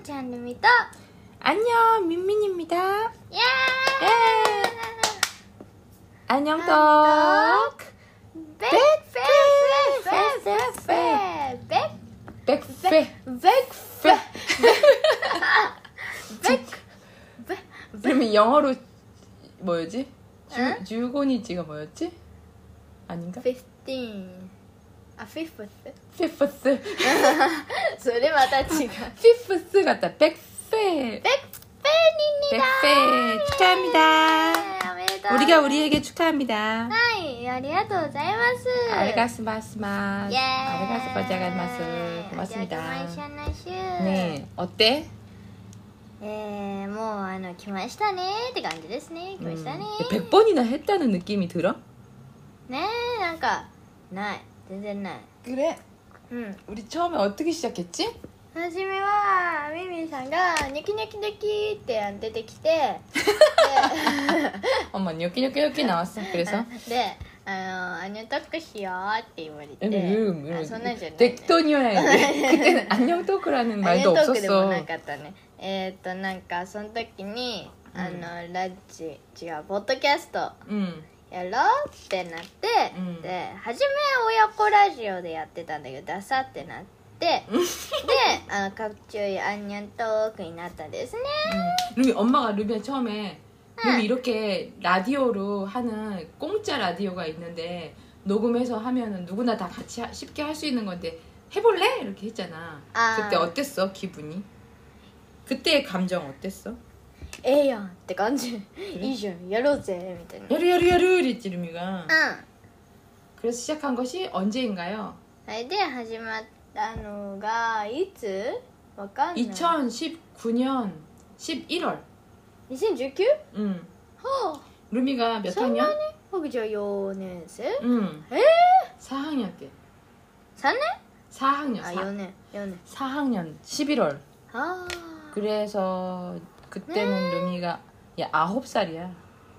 ちゃんルミと 안녕 민민입니다. 예! 안녕 떡. 그러면 영어로 뭐였지? 응? 주고니치가 뭐였지? 아닌가? 15 あ、フィフス 피프스. それまた違う 피프스 같다. 백페. ペニニだ 백페 축하합니다. おめでとう 우리가 우리에게 축하합니다. はいありがとうございます 아리가스마스마스. 예 아리가스마자가마스. 고맙습니다. 네. 네, 어때? もう来ましたねって感じですね来ましたね 100번이나 했다는 느낌이 들어? ねえなんかない全然ない 그래? うん 우리 처음에 어떻게 시작했지? 初めはミミさんがニョキニョキニョキって出てきて 엄마 뇨끼뇨끼뇨끼 나왔어. 그래서? でアニョトークしようって言われて そんなんじゃない、ね、 덱톤이어야지. 그때는 안녕 토크라는 말도 アニョトークでも 없었어. なかったねなんかその時にラジ違うポッドキャスト 응. やろうってなって、 うんで初めは親子ラジオでやってたんだけどダサってなってで各中アンニョントークになったんですね 루비 엄마가 루비야 처음에 루비 이렇게 라디오로 하는 공짜 라디오가 있는데 녹음해서 하면은 누구나 다 같이 쉽게 할 수 있는 건데 해볼래? 이렇게 했잖아. 아. 그때 어땠어 기분이? 그때의 감정 어땠어? ええやんって感じいいじゃんやろうぜみたいな 야르야르야르 이랬지 루미가. うん 그래서 시작한 것이 언제인가요? それで始まったのがいつわかんない 2019년 11월. 2019? 응. はあ 루미가 몇 そんなに 학년? 僕じゃあ4年生 응. え 4학년 때. 3年 4학년. あ4年4年 4학년 11월. あ 그래서 그때는 루미가 야 9살이야.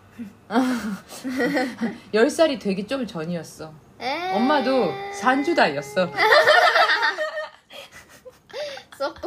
10살이 되기 좀 전이었어. あ 엄마도 산주다였어. そこ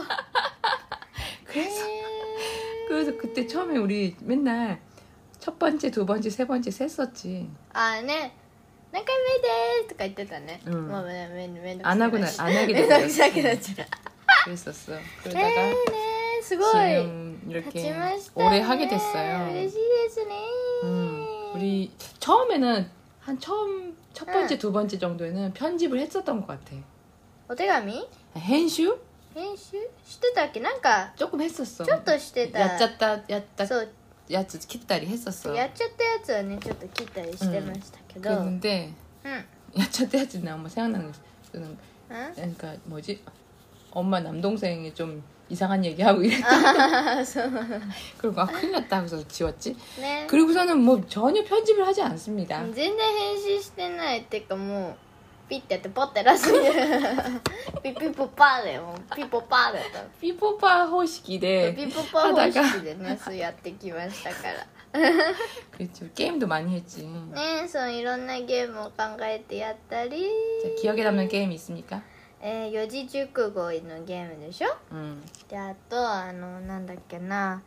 그래서 그때 처음에 우리 맨날 첫 번째, 두 번째, 세 번째 셌었지. あね何回目ですとか言ってたね、 うんもうめんどくさく 안 하고 안 하게 めんどくさく 됐어. なっちゃう 그랬었어. ね 그러다가 すごい 지금 立ち 이렇게 ましたね 오래 하게 됐어요. 嬉しいですね 우리 처음에는 한 첫 번째, 두 번째 정도에는 편집을 했었던 것 같아. お手紙編集? 編集してたっけなんか 조금 했었어. ちょっとしてた 야짜 そう 야츠 kit다리 했었어. やっちゃったやつはねちょっと切ったりしてましたけど、うん 그랬는데 うん 야짜 야츠는 엄마 생각나는 거 저는 あ 그러니까 뭐지? 엄마 남동생이 좀 이상한 얘기하고 이랬다. あそう 그리고 아 큰일 났다 그래서 지웠지. ね 그리고서는 뭐 전혀 편집을 하지 않습니다. 全然編集してないっていうかもうピッてやってポッて出すピピポパーだよもうピポパーだった 피포파 호식이래. ピポパー方式でねそうやってきましたから 그렇죠. 게임도 많이 했지. ねそういろんなゲームを考えてやったり 자, 기억에 남는 게임 있습니까? 四字熟語のゲームでしょ であとなんだっけな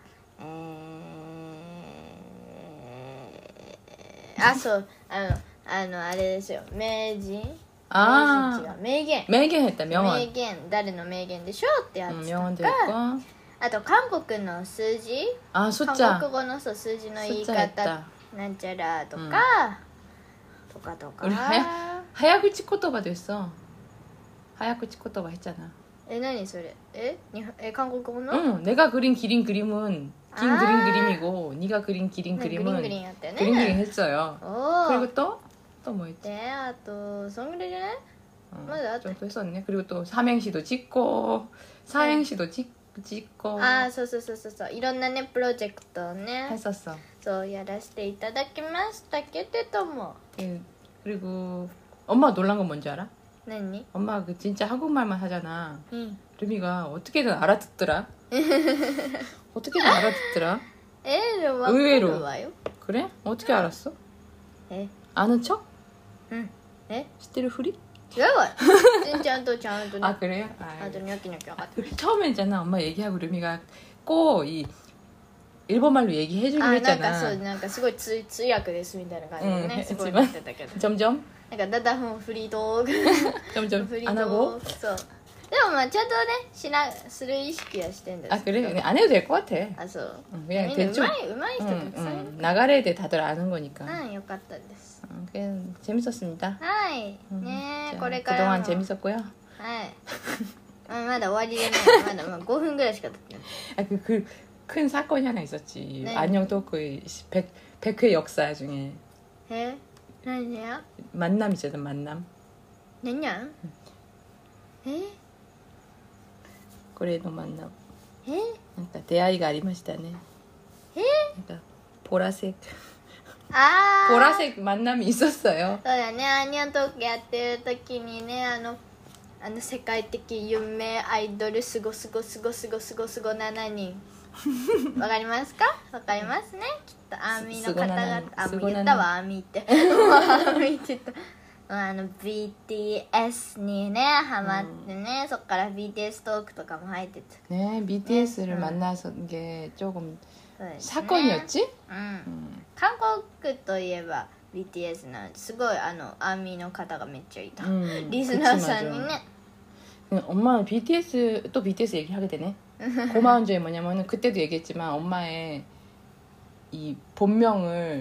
あそうあれですよ名人 아 違う名言 매개했다 명언. 名言誰の名言でしょってやつと 명언도 か 있고. あと韓国の数字 아 韓 숫자. 国語のそう数字の言い 숫자 方 했다. なんちゃらとか、とか 우리 하야구치 코토바도 했어. 하야구치 코토바 했잖아. 何それ韓国語の、 응, 내가 그린 기린 그림은 긴 아. 그림 그림이고 네가 그린 기린 ねグリ 그림은 ングリンやったよね 그린 그림 했어요. おお 그리고 또 뭐 했지? であとそんぐらいじゃない 맞아. 좀 또 했었네. 그리고 또 삼행시도 찍고 사행시도 찍고 ああそういろんなねプロジェクトをね 했었어. そうやらせていただきましたけれども 그리고 엄마 놀란 건 뭔지 알아? 何 엄마 그 진짜 한국말만 하잖아. うん 루미가 어떻게든 알아듣더라. 어떻게든 알아듣더라. でも分かるわよ 그래? 어떻게 알았어? え 아는 척? うん 시테르 후리? 違うわちゃんとね 아 그래요? あとニョキニョキ分かった 처음에 있잖아 엄마 얘기하고 루미가 꼭 이 일본말로 얘기해주기로 なんか 했잖아. そうなんかすごい通訳ですみたいな感じでね、 うんすごいなってたけど 점점 なんかだんだんフリートーク 점점 フリー 안 ト 하고. ークそうでもまあちゃんとねする意識はしてんだ 아 그래? 그냥 안 해도 될 것 같아. あそう 그냥 みんな 대충 うまい人たくさんいる 나가래에 대해 다들 아는 거니까. うんよかったです 그냥 재밌었습니다. はいね 자, これからも 그동안 재밌었고요. はいまだ終わりでねまだ5分ぐらいしか経ってない 아, 큰 사건이 하나 있었지. 네. 안녕 토크의 100회 역사 중에 え何や 만남 있잖아, 만남. 何やえ 고래의 만남. え 그러니까 대화가 ありましたね. 그러니까 보라색 あー 보라색 만남이 있었어요. そうだねアニョントークやってる時にね世界的有名アイドルすご7人わかりますかわかりますねきっとアーミーの方々アーミー言ったわアーミーってアーミーって言ったBTS にねハマってね、そっから BTS トークとかも入ってた 네, BTS를 만나서 게 조금 そうですね 사건이었지? 韓国といえば BTS なんですごいアーミーの方がめっちゃいた、リスナーさんにね 엄마는 BTS 또 BTS 얘기하게 되네. 고마운 점이 뭐냐면은 그때도 얘기했지만 엄마의 이 본명을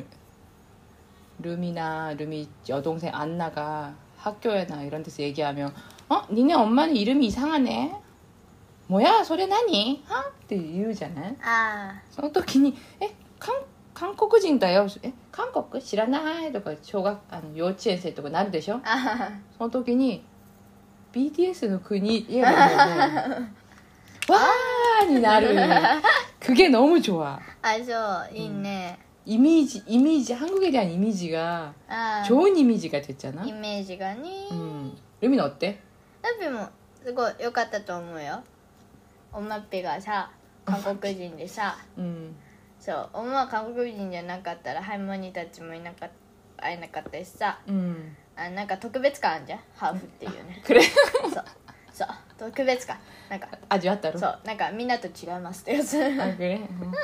루미나 루미 여동생 안나가 학교에나 이런 데서 얘기하면 니네 엄마는 이름이 이상하네. 뭐야 소리 나니?って言うじゃない? あその時に韓国人だよ韓国知らないとか幼稚園生とかなるでしょその時に BTS の国言えばもうわーになる 그게 너무 좋아 あそういいね、 이미지 한국에 대한 이미지가 あ 좋은 이미지가 됐잖아 イメージがね、 루미는 어때? ラッピもすごい良かったと思うよおまっぺがさ韓国人でさそうおまは韓国人じゃなかったらハイモニーたちも会えなかったしさ、なんか特別感あるじゃんハーフっていうね 그래? そう特別感なんか 아주 왔다로? そうなんかみんなと違いますってやつ 아 그래?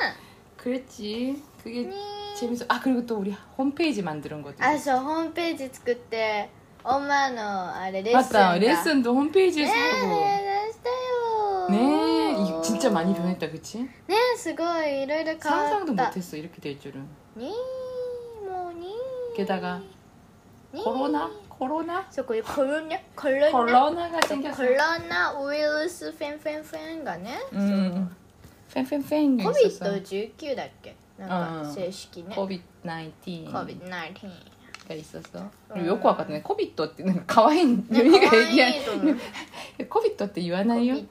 그랬지 그게 재밌어 아 그리고 또 우리 홈페이지 만드는 것도 あそうホームページ作って엄마のあれレッスンが 맞다 레슨도 홈페이지에서 ね 하고 え出したよ 네 이거 진짜 많이 변했다 그치? ねすごいいろいろ変わ 상상도 った 못했어 이렇게 될 줄은 にもに 게다가 に 코로나? そうこういうコロナ 코로나가 생겼어 コロナウイルスフェンがね、 팬팬팬 있었어 COVID-19 だっけなんか正式ね COVID-19가 COVID-19 있었어 그리고 요코 아까 전에 코비토ってなんか可愛い유미가 얘기한 코비토って言わないよ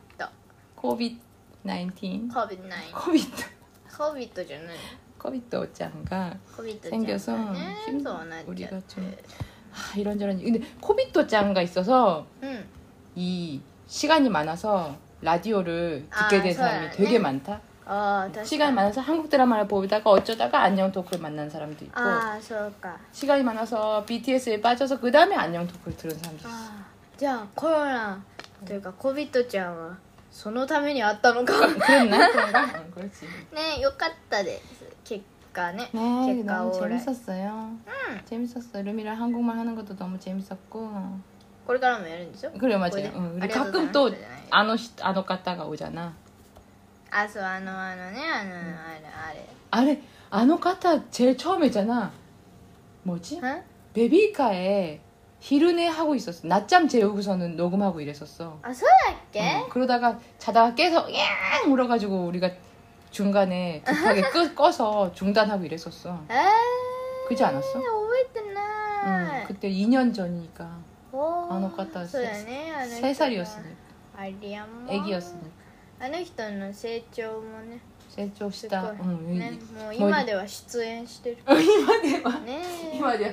COVID-19 COVID-19 COVID じゃない 코비토 짱가 COVID 생겨서 ちゃんがね 힘 そうなっちゃ 우리가 って 좀 이런저런 근데 코비토 짱가 있어서 うん 이 시간이 많아서 라디오를 듣게 된 사람이 소연이? 되게 많다. ああ確かに 시간이 많아서 한국 드라마를 보다가 어쩌다가 안녕 토크를 만난 사람도 있고 ああそうか 시간이 많아서 BTS에 빠져서 그 다음에 안녕 토크를 들은 사람도 있어. あーじゃあコロナというか COVID ちゃんはそのためにあったのか 그랬나? 그런가? 응, 그렇지. ねよかったです結果ね 네, 結果 너무 オーライ 재밌었어요. 재밌었어. 루미랑 한국말 하는 것도 너무 재밌었고. これからもやるんですよ 그래 これ 맞아요. で 응, あ 우리 りがとうござい 가끔 ます 또 아노 갔다가 오잖아. あそうねあれ 아래 아노 갔다 제일 처음이잖아. 뭐지? ん 베비카에昼寝 하고 있었어. 낮잠 재우고서는 녹음하고 이랬었어. あそうだっけ 그러다가 자다가 깨서 야 울어가지고 우리가 중간에 급하게 꺼서 중단하고 이랬었어. えー 그지 않았어? 覚えてない 그때 2년 전이니까 おーあの方そうだねあの人 3살이었으니까 ありゃも 애기였으니까 あの人の成長もねす 세조시다. ごい 응, ねもう今では出演してる 이마대와 ねえ 이마대와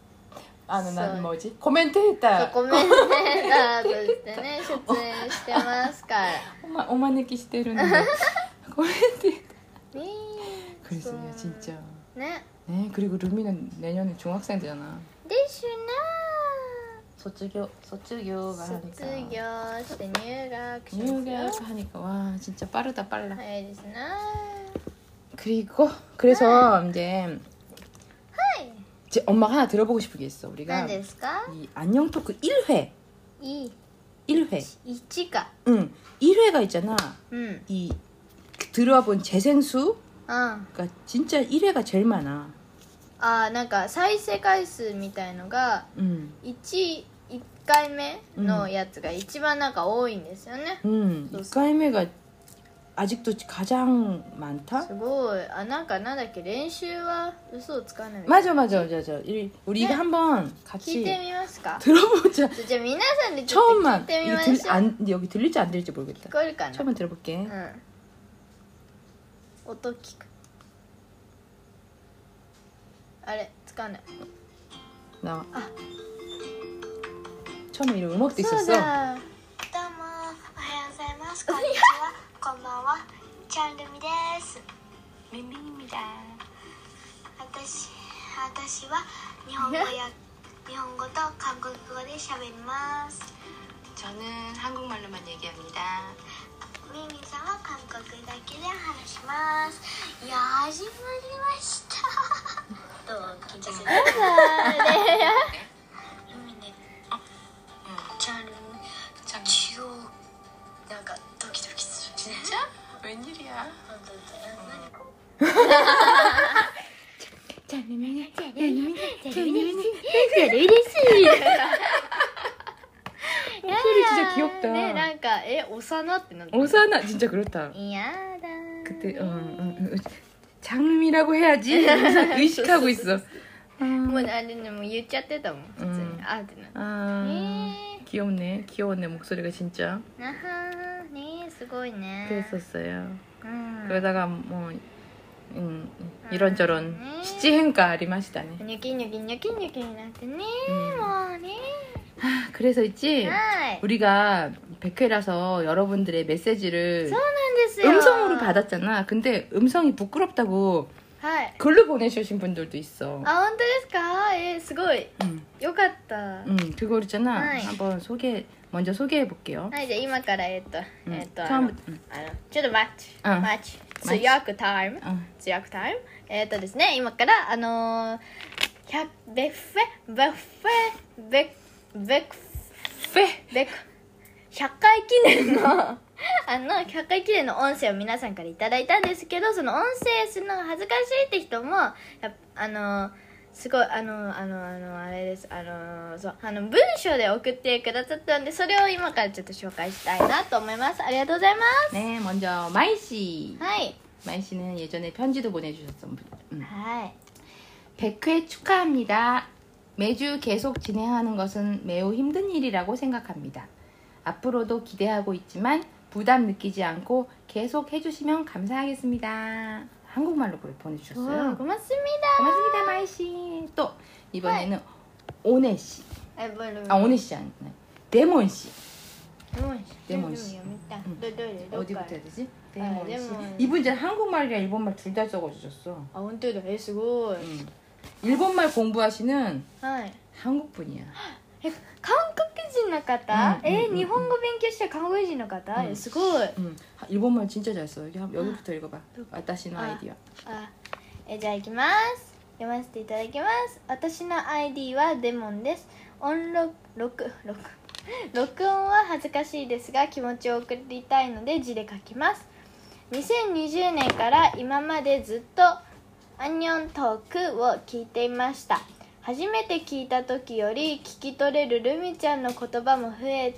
난 써. 뭐지? 코멘트했다. コメンテーターとしてね出演してますから 오마네키 시대로는 코멘트. ねえ 그랬어요, そう 진짜. ね 네, 그리고 루미는 내년에 중학생 되잖아. ですな卒業が하니까 卒業して入学しますよ入学하니까 와 진짜 빠르다 빨라. 早いですね 그래서 이제 はい 이제 엄마가 하나 들어보고 싶은 게 있어. 우리가 何ですか 이 안녕 토크 1회 1 1회 か 응 1회가 있잖아. うん、 이 들어와 본 재생수가 あ 진짜 1회가 제일 많아. あ、なんか再生回数みたいのが 1回目のやつが一番なんか多いんですよね、 1回目가 아직도 가장 많다? すごい。あ、なんだっけ、練習は嘘をつかないみたい 맞아 な 맞아 맞아. 우리 이거 한번 聞い 같이 てみますか 들어보자. じゃあ皆さんでちょっと聞い 처음만 てみ 이거 ましょう 여기 들릴지 안 들릴지 聞 모르겠다. こえるかな 처음만 들어볼게. うん音聞くあれつかない 나 あ 처음에 이런 음악도 そう 있었어. だどうもおはようございますこんにちはこんばんはチャンルミですミミミだ私は日本語と韓国語で喋ります 저는 한국말로만 얘기합니다. ミミさんは韓国だけで話しますいや始まりましたどう緊張するミミねチャンルミ一応なんかドキドキする 진짜? 웬일이야? 本当だ 목소리 진짜 귀엽다. ね、なんか幼ってなって 오사나 진짜 그렇다. いやだ 그때 장미라고 해야지. 항상 의식하고 있어. もうあれねもう言っちゃってたもん普通に、あってなって 아, 귀엽네. 귀여웠네 목소리가 진짜. なはーねすごいね 그랬었어요. うん 그러다가 뭐 이런저런 시지행가 아리마시다네. ニョキニョキニョキニョキになってね、もうね 아, 그래서 있지. はい 우리가 100회라서 여러분들의 메시지를 そうなんですよ 음성으로 받았잖아. 근데 음성이 부끄럽다고 はい 글로 보내주신 분들도 있어. あ本当ですかすごい よかったは 그거 있잖아. 네. 한번 먼저 소개해 볼게요. いじゃあ今から 처음부터. ちょっと待ってうん待ち通訳タイム通訳タイムですね今からベッフェ100回記念の100回記念の音声を皆さんからいただいたんですけどその音声するのが恥ずかしいって人もすごいあれですそう文章で送ってくださったんでそれを今からちょっと紹介したいなと思いますありがとうございます 네, 먼저 마이 씨. はい 마이 씨는 예전에 편지도 보내주셨어. はい 100회 축하합니다. 매주 계속 진행하는 것은 매우 힘든 일이라고 생각합니다. 앞으로도 기대하고 있지만 부담 느끼지 않고 계속 해주시면 감사하겠습니다. 한국말로 보내주셨어요. 고맙습니다 고맙습니다, 마이 씨. 또 이번에는 오네 씨. 오네 씨 아니네. 데몬 씨. 데몬 씨. 어디부터 해야 되지? 데몬 씨. 데몬. 이분 이제 한국말이랑 일본말 둘 다 적어주셨어. あ本当だすごい 일본말 공부하시는 はい 한국 분이야. 韓国人の方日本語勉強してる韓国人の方すごい 일본말 진짜 잘 써. 여기부터 읽어봐. 와타시の 아이디어. じゃあいきます読ませていただきます私の ID はデモンです録音は恥ずかしいですが気持ちを送りたいので字で書きます2020年から今までずっとアンニョントークを聞いていました初めて聞いた時より聞き取れるルミちゃんの言葉も増え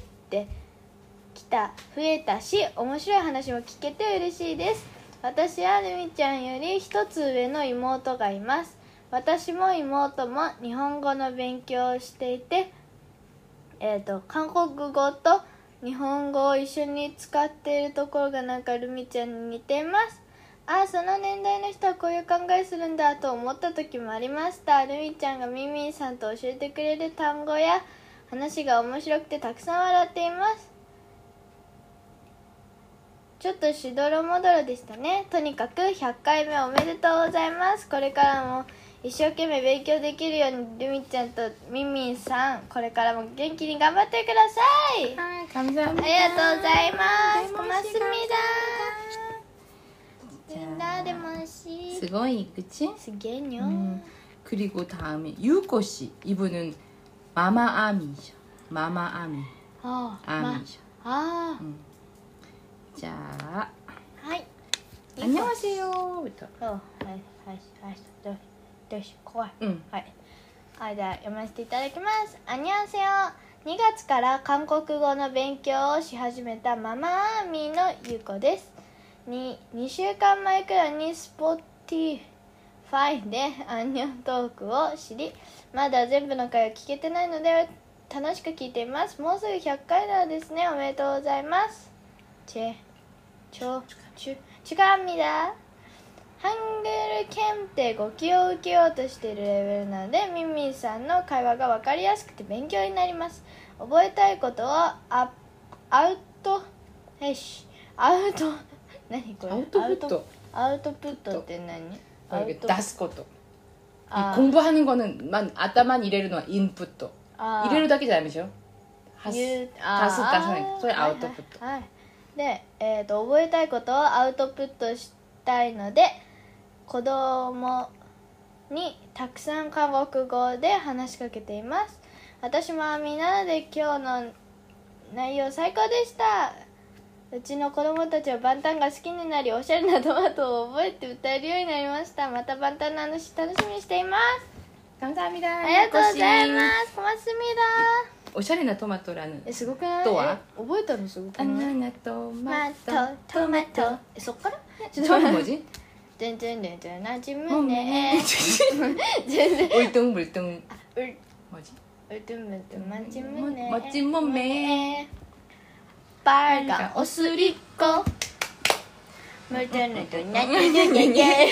たし面白い話も聞けて嬉しいです私はルミちゃんより一つ上の妹がいます私も妹も日本語の勉強をしていて韓国語と日本語を一緒に使っているところがなんかルミちゃんに似ていますその年代の人はこういう考えするんだと思った時もありましたルミちゃんがミミンさんと教えてくれる単語や話が面白くてたくさん笑っていますちょっとしどろもどろでしたねとにかく100回目おめでとうございますこれからも一生懸命勉強できるようにルミちゃんとミンミンさんこれからも元気に頑張ってください。 はい、감사합니다。 ありがとうございます。 고맙습니다。 고맙습니다。 みんなでもしすごい、그치？ すげえにょ。 그리고 다음에 유코 씨. 이분은 마마아미죠. 마마아미. ああ、 아미죠. あ 자, あ、はい。 안녕하세요.부터. はいはいはいどうし怖い。 응. はい。はい、では読ませていただきます。あにゃんせよ。2月から韓国語の勉強をし始めたママアーミーのゆうこです。2週間前くらいにSpotifyでアンニョントークを知り、まだ全部の回を聞けてないので楽しく聞いています。もうすぐ100回なんですね。おめでとうございます。축하합니다。ハングル検定5級を受けようとしているレベルなので、ミンミンさんの会話が分かりやすくて勉強になります。覚えたいことをアウト何これ？ アウトプット。 アウトプットって何？アウト 다스코토. 아. 공부하는 거는 아따만 이래르는 인풋도. あー 이래르だけじゃないでしょ? ダスそれアウトプット。 はいはいはいで、覚えたいことをアウトプットしたいので、子供にたくさん韓国語で話しかけています。私もアミなので今日の内容最高でした。うちの子供たちはバンタンが好きになり、おしゃれなトマトを覚えて歌えるようになりました。またバンタンの話楽しみにしています。 감사합니다. ありがとうございます。小松みだ。 오샤레나 토마토라는 すごくない？ とは覚えたのすごくない？ 바나나 ト 토마토 マトそっから？ 처음이 뭐지? 全然なじむね。全然 울뚱불뚱 う 뭐지? うとむとまじむね。 멋진 몸매 빨간 옷을 입고 물들는 나들느냐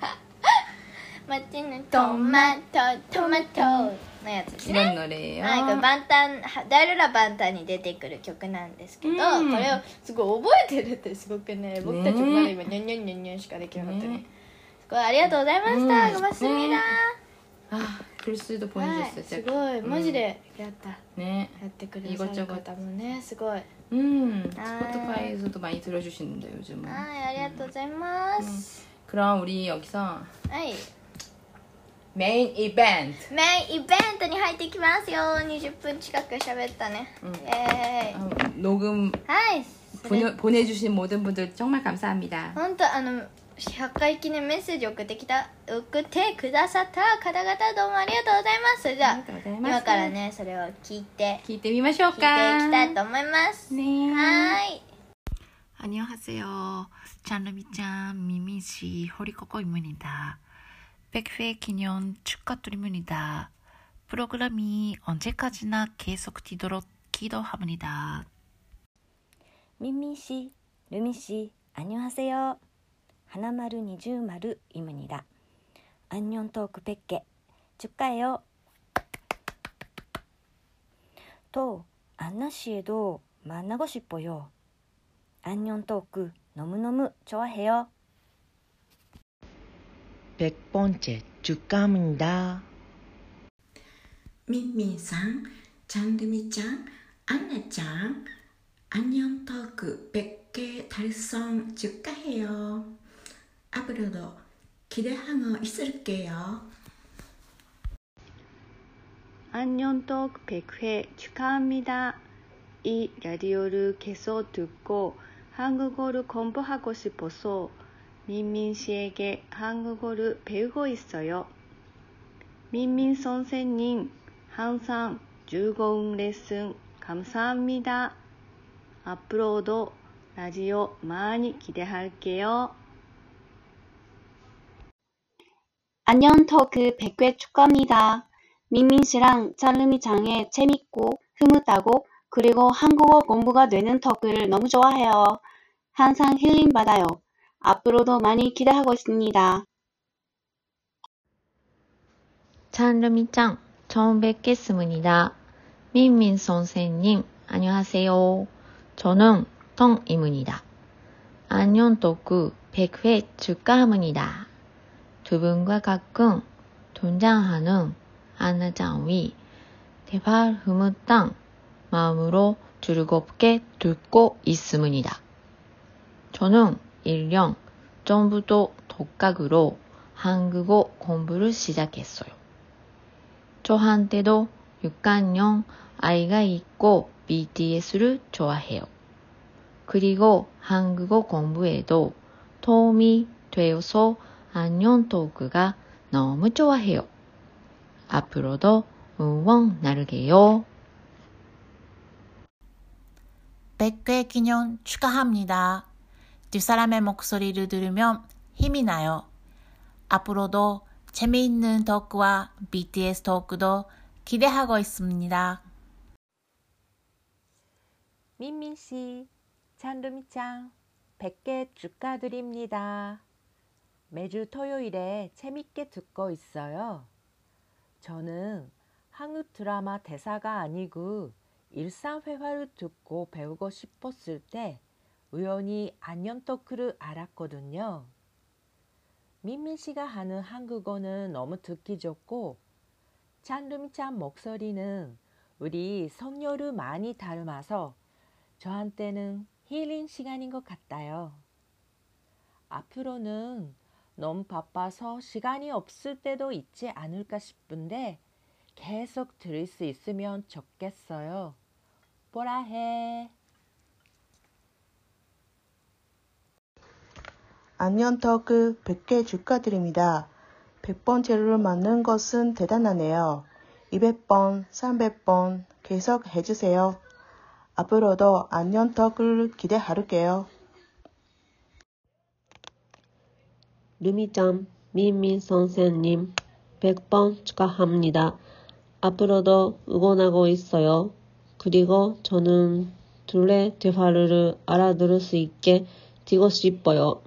멋지는 토마토 のやつですね。 이런 노래예요. はい、これバンタンダルラバンタンに出てくる曲なんですけど、 うんこれをすごい覚えてるってすごくね、僕たちもまだ今ニャンニャンニャンニャンしかできなかったね。 ねすごいありがとうございました。ごますみだ。 아, 글쓰도 はい、 보내줬어요. すごいマジでやった、 네. やってくださる方もね、すごい。 스포티파이에서도 많이 들어주시는데 요즘은. はい、ありがとうございます。 그럼 우리 여기서 はい、 메인 이벤트. メインイベントに入ってきますよ。20分近く喋ったね。イエーイ。 녹음 はい。それ 보내주신 모든 분들 정말 감사합니다. 本当100回記念メッセージ送ってくださった方々どうもありがとうございます。それでは 감사합니다. 今からねそれを聞いて 기대 聞いてい 미마쇼까. きたいと思います。 네. はーい。 안녕하세요. 찬루미짱 미미씨 호리코코입니다. 100회 기념 축하드립니다. 프로그램이 언제까지나 계속되도록 기도합니다. 민민씨, 루미씨, 안녕하세요. 하나마루 니주마루입니다. 안녕 토크 100개 축하해요. 또 안나씨에도 만나고 싶어요. 안녕 토크 너무너무 좋아해요. 100번째 축하합니다. 민민상, 장르미짱, 안나짱, 안녕 토크 100개 달성 축하해요. 앞으로도 기대하고 있을게요. 안녕 토크 100회 축하합니다. 이 라디오를 계속 듣고 한국어를 공부하고 싶어서 민민 씨에게 한국어를 배우고 있어요. 민민 선생님, 항상 즐거운 레슨 감사합니다. 앞으로도 라디오 많이 기대할게요. 안녕 토크 100회 축하합니다. 민민 씨랑 찰루미 장의 재밌고 흐뭇하고 그리고 한국어 공부가 되는 토크를 너무 좋아해요. 항상 힐링 받아요. 앞으로도 많이 기대하고 있습니다. 찬루미짱, 처음 뵙겠습니다. 민민 선생님, 안녕하세요. 저는 텅입니다. 안녕 토크 100회 축하합니다. 두 분과 가끔 등장하는 안나짱의 대발 흐뭇한 마음으로 즐겁게 듣고 있습니다. 저는 1년 전부터 독학으로 한국어 공부를 시작했어요. 저한테도 6학년 아이가 있고 BTS를 좋아해요. 그리고 한국어 공부에도 도움이 되어서 안녕 토크가 너무 좋아해요. 앞으로도 응원 나를게요. 100회 기념 축하합니다. 뒷사람의 목소리를 들으면 힘이 나요. 앞으로도 재미있는 토크와 BTS 토크도 기대하고 있습니다. 민민씨, 찬루미짱 100개 축하드립니다. 매주 토요일에 재밌게 듣고 있어요. 저는 한국 드라마 대사가 아니고 일상회화를 듣고 배우고 싶었을 때 우연히 안녕 토크를 알았거든요. 민민씨가 하는 한국어는 너무 듣기 좋고 찬루미짱 목소리는 우리 성녀를 많이 닮아서 저한테는 힐링 시간인 것 같아요. 앞으로는 너무 바빠서 시간이 없을 때도 있지 않을까 싶은데 계속 들을 수 있으면 좋겠어요. 뭐라 해. 안녕 토크 100개 축하드립니다. 100번째를 맞는 것은 대단하네요. 200번, 300번 계속 해주세요. 앞으로도 안녕 토크를 기대할게요. 루미짱, 민민 선생님 100번 축하합니다. 앞으로도 응원하고 있어요. 그리고 저는 둘의 대화를 알아들을 수 있게 되고 싶어요.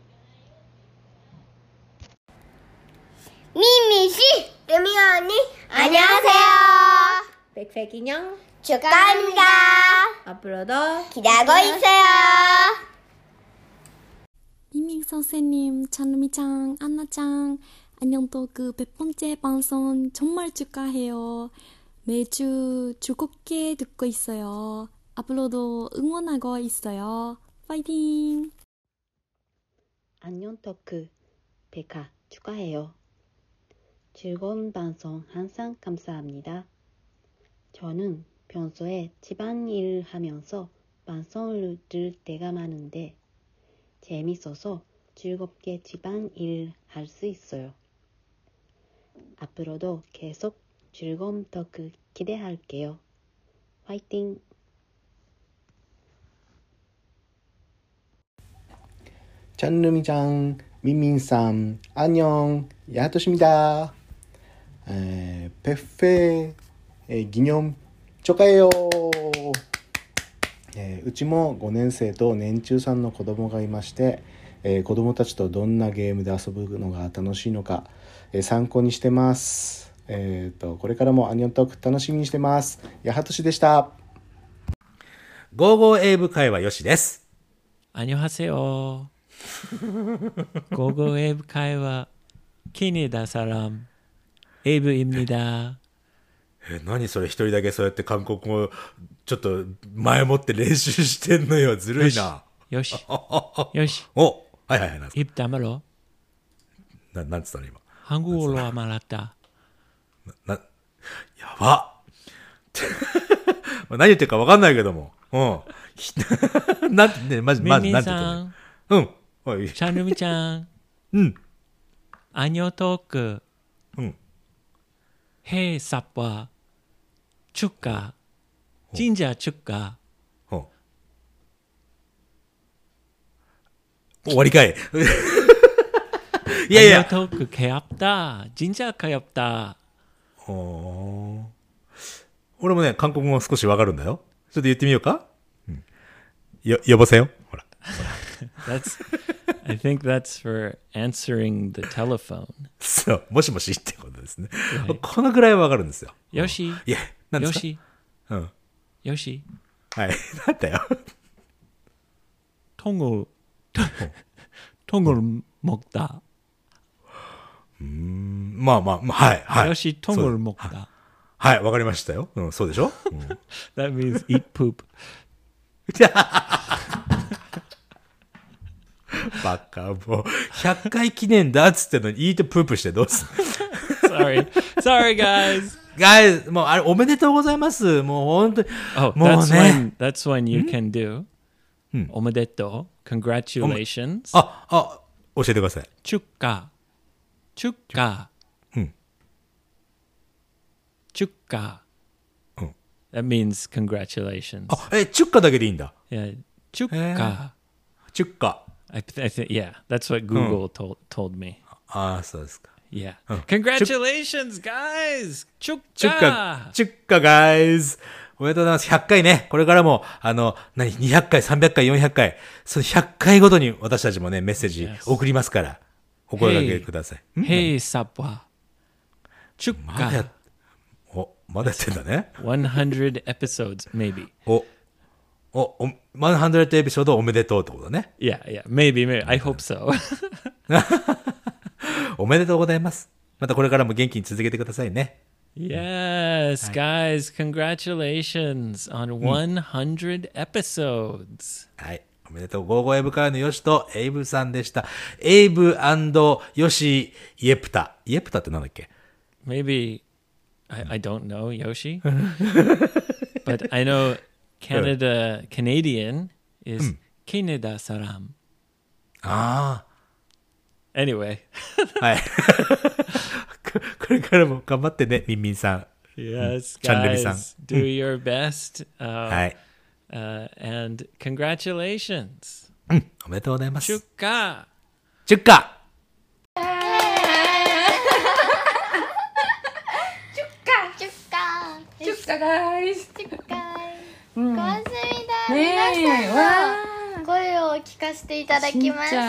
민민씨, 루미가 언니, 안녕하세요. 100회 기념 축하합니다. 앞으로도 기대하고 있어요. 민민 선생님, 찬루미짱, 안나짱, 안녕 토크 100번째 방송 정말 축하해요. 매주 즐겁게 듣고 있어요. 앞으로도 응원하고 있어요. 파이팅! 안녕 토크 100화 축하해요. 즐거운 방송 항상 감사합니다. 저는 평소에 집안일을 하면서 방송을 들을 때가 많은데 재밌어서 즐겁게 집안일을 할 수 있어요. 앞으로도 계속 즐거운 토크 기대할게요. 화이팅! 찬루미짱, 민민쌈, 안녕, 야토십니다. 100회 기념 축하해요. うちも5年生と年中さんの子供がいまして、子供たちとどんなゲームで遊ぶのが楽しいのか、参考にしてます。これからもアニョントーク楽しみにしてます。やはとしでした。 ゴーゴー英語会話よしです。 안녕하세요. 고고 에이브 카이와 키니다 사람 에이브입니다. 何それ一人だけそうやって韓国語ちょっと前もって練習してんのよ。ずるいな。 よし。よし。 お、はいはいはい。 입 다물어. なんつったの今。 한국어로 말했다. やば。何言ってるか分かんないけども。うん。なんてね、まずなんて言ってる。うん。 찬루미짱. 안녕 토크. 해 삽과 축가. 진짜 축가. 終わりかい。いやいや。 안녕 토크 개없다. 진짜 개없다. 俺もね、韓国語少しわかるんだよ。ちょっと言ってみようか。呼ばせよ。ほら。 I think that's for answering the telephone. そう、もしもしってことですね。このぐらいわかるんですよ。 よし。 いや、なんですか。 よし。 うん。 よし。 はい、なんだよ。 통을 먹다. まあ、はいはい。 よし、똥을 먹다。 はい、わかりましたよ。そうでしょ。 That means eat poop. バカもう100回記念だっつってのにイートプープしてどうする？Sorry guys。 もうあれおめでとうございます。もう本当に。 もうね。That's when you can do。おめでとう。Congratulations。 教えてください。 축하。축하。축하。That means congratulations. 축하だけでいいんだ。 축하。 축하。 I think, yeah, that's what Google told me. そうですか。 Yeah. Congratulations, guys! 축하! 축하, guys! おめでとうございます。100回ね。これからも、200回、300回、400回、その100回ごとに私たちもね、メッセージ送りますから、お声掛けください。 Hey, Sapwa. 축하. まだやってんだね。 100 episodes, maybe. 100エピソードおめでとうってことね。 Yeah, maybe. I hope so. おめでとうございます。またこれからも元気に続けてくださいね。 Yes, guys, congratulations on 100 episodes. はい。おめでとう。ゴーゴーエイブからのヨシとエイブさんでした。エイブ&ヨシイエプタ。イエプタってなんだっけ？ Maybe, I don't know, Yoshi. But I know Canadian is Canada Saram. Anyway. はい。これからも頑張ってね、ミンミンさん。 Yes, チャンルミさん。 guys, do your best. はい。 And congratulations. おめでとうございます。 축하. 축하. 축하 guys. 고맙습니다. 皆さんの声を聞かせていただきました。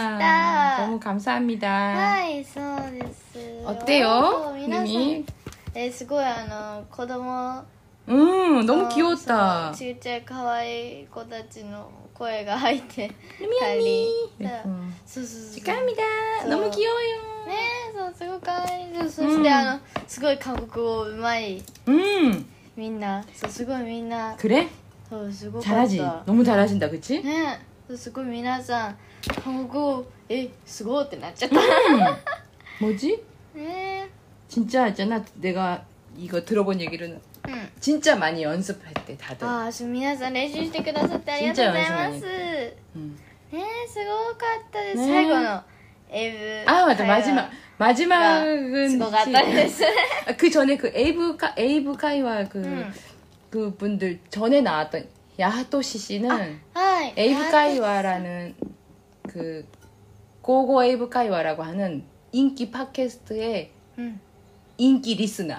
너무 감사합니다. はい、そうです。 어때요? 皆さん、すごい子供 너무 귀여웠다. ちっちゃい可愛い子たちの声が入ってたり。そう。 축하합니다. 너무 귀여워요. ね、そうすごく可愛い。そしてすごい韓国語うまい。みんな、そうすごいみんな。 그래? そうすごかった。 잘하지. 너무 잘하신다, 그치? ね、すごい皆さん韓国語すごいってなっちゃった。 뭐지? 네. 진짜 있잖아. 내가 이거 들어본 얘기로는 진짜 많이 연습했대 다들. 皆さん練習してくださってありがとうございます。ね、すごかったです。最後のエイブ。 맞아. 마지막은 すごかったです。 그 전에 그 에이브 카이와 그 분들 전에 나왔던 야하토시 씨는 에이브 카이와라는 그 고고 에이브 카이와라고 하는 인기 팟캐스트의 인기 리스너.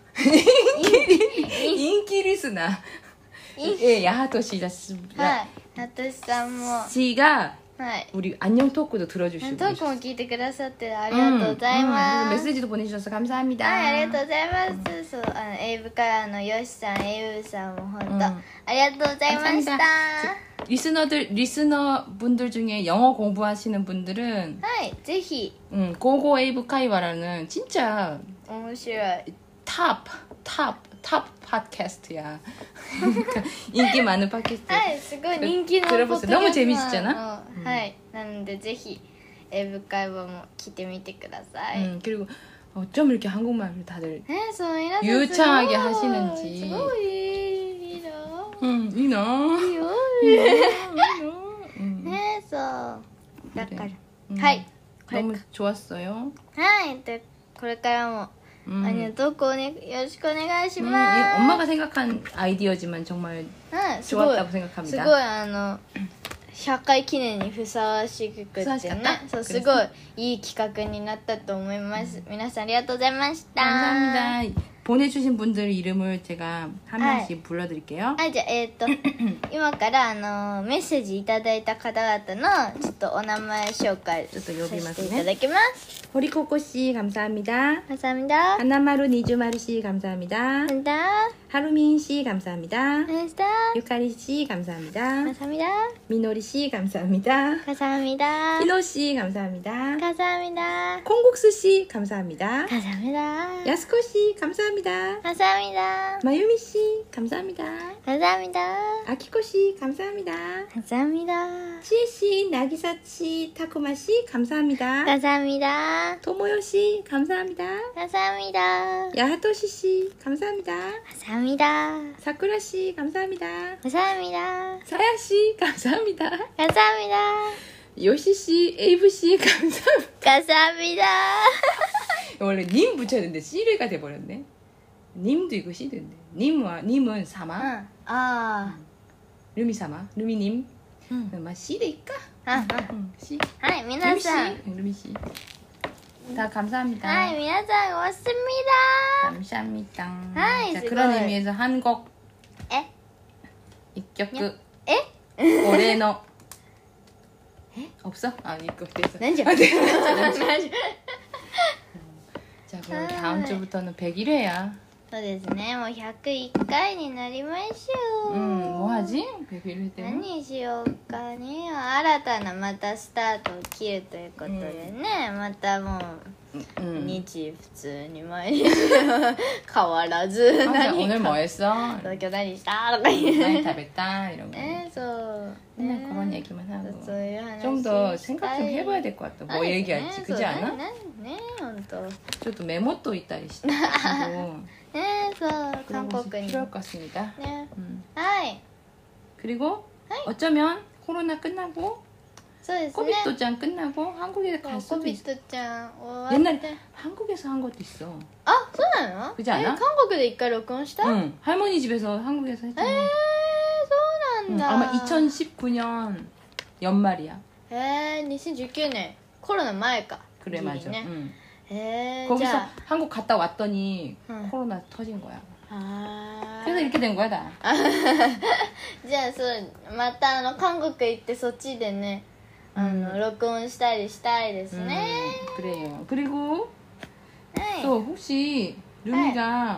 인기 리스너. 예, 야하토시 씨가 우리 안녕 토크도 들어주시고 トークも聞いてくださってありがとうございます。 메시지도 보내주셔서 감사합니다. はい、ありがとうございます。そう、エイブからのヨシさん、エイブさんも本当、ありがとうございました。 리스너 분들 중에 영어 공부하시는 분들은 はい、ぜひ 고고 에이브 카이와라는 진짜 面白い 탑 팟캐스트야. 그러니까 인기 많은 팟캐스트. はい、すごい人気のポッドキャスト。 너무 재밌었잖아. はい、なのでぜひエイブ会話も聞いてみてください。 그리고 어쩜 이렇게 한국말을 다들 そう皆さん 유창하게 하시는지. すごいいいな。 いいな。 いいよ。ね、そうだから、はい、 너무 좋았어요. はい、でこれからもトークをねよろしくお願いします。 엄마가 생각한 아이디어지만 정말 좋았다고 생각합니다. すごい100回記念にふさわしくてね、そうすごいいい企画になったと思います。皆さんありがとうございました。 감사합니다. 보내주신 분들 이름을 제가 한 명씩 불러드릴게요. はい、じゃあ今からメッセージいただいた方々のちょっとお名前紹介させていただきます。 호리코코 씨 감사합니다. 감사합니다. 하나마루 니주마루 씨 감사합니다. 감사합니다. 하루민 씨 감사합니다. 감사합니다. 유카리 씨 감사합니다. 감사합니다. 미노리 씨 감사합니다. 감사합니다. 키노 씨 감사합니다. 감사합니다. 콩국수 씨 감사합니다. 감사합니다. 야스코 씨 감사합니다. 감사합니다. 마유미 씨 감사합니다. 감사합니다. 아키코 씨 감사합니다. 감사합니다. 치에 씨, 나기사 씨, 타쿠마 씨 감사합니다. 감사합니다. 토모요 씨 감사합니다. 감사합니다. 야하토시 씨 감사합니다. 감사합니다. 사쿠라 씨 감사합니다. 감사합니다. 사야 씨 감사합니다. 감사합니다. 요시 씨, 에이브 씨 감사합니다. 감사합니다. 원래 님 붙여야 되는데 씨가 돼버렸네. 님도 있고 씨도 있네. 님은 사마.ルミ様、ルミ님。まあCでいっか。C。 はい、皆さん。 ルミC。다 감사합니다. はい、皆さん、고맙습니다. 감사합니다. 하이, 자, 수고해. 그런 의미에서 한 곡. 에? 一曲. 에? 올해의 없어? 아, 이거 됐어. 난지. 자, 그럼 다음 주부터는 101회야. そうですね、もう101回になりましょう。 뭐 하지? 101회 때. 何しようかね。新たなまたスタートを切るということでね、またもう、日普通に毎日変わらず 오늘 뭐 했어? 東京何したとか言う 많이食べた 이런 거. ね、そう 맨날 그런 얘기만 하고. そういう話 좀 더 생각 좀 해봐야 될 것 같다. 뭐 얘기할지, 그지 않아? ね、本当。 ちょっとメモといたりしてね、 そう韓国に 필요할 것 같습니다. 네. はい 그리고 어쩌면 코로나 끝나고 そうですね 코비토짱 끝나고 한국에 갈 수도 있어. 코비토짱 옛날에 한국에서 한 것도 있어. あ、そうなの 그지 않아? 韓国で一回録音した 응. 할머니 집에서 한국에서 했잖아. そうなんだ 아마 2019년 연말이야. 2019年コロナ前か 그래 맞아. ね 응. じ 거기서 ゃ 한국 갔다 왔더니 응. 코로나 터진 거야. あ 그래서 이렇게 된 거야 다. じゃあそうまた韓国行ってそっちでね録音したりしたいですね 그래요. 그리고 はい 또 혹시 루미가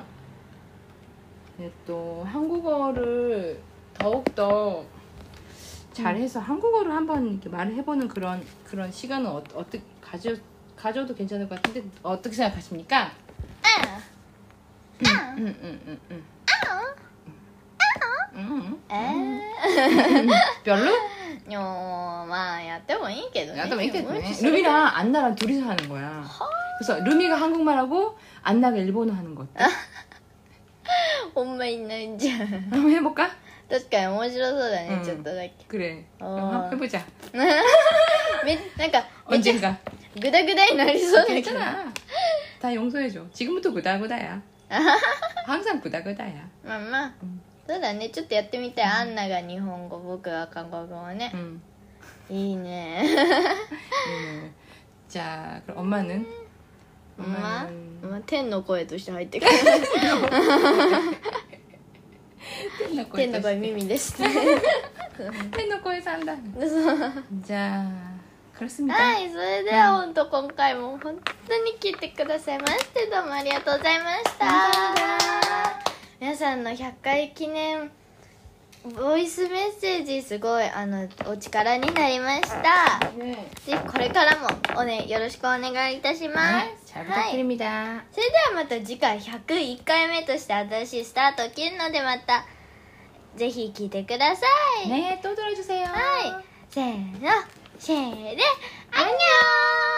한국어를 더욱더 잘해서 한국어를 한번 이렇게 말을 해보는 그런 시간은 어떻게 가져도 괜찮을 것 같은데 어떻게 생각하십니까? 별로? まあやってもいいけどね 나도 있겠네. 루미랑 안나랑 둘이서 하는 거야. 그래서 루미가 한국말하고 안나가 일본어 하는 거 어때? ほんまいないじゃん 한번 해볼까? 確かに面白そうだね、ちょっとだけ 그래. 한번 해보자. なんかめっちゃ 언젠가. グダグダになりそうだけど 괜찮아. 다 용서해줘. 지금부터 구다구다야. 항상 구다구다야. まあまあそうだねちょっとやってみたい、アンナが日本語僕が韓国語ね、いいね 자, 그럼 엄마는? 엄마? 天の声として入ってくる天の声耳です天の声さんだじゃあ 그렇습니다. はいそれでは本当今回も本当に聞いてくださいましてどうもありがとうございました皆さんの100回記念ボイスメッセージすごいお力になりました、ぜひこれからもよろしくお願いいたします、 잘 부탁드립니다. それではまた次回101回目として新しいスタートを切るのでまたぜひ聞いてくださいね、또 들어주세요. はいせーのシェーでアンニョン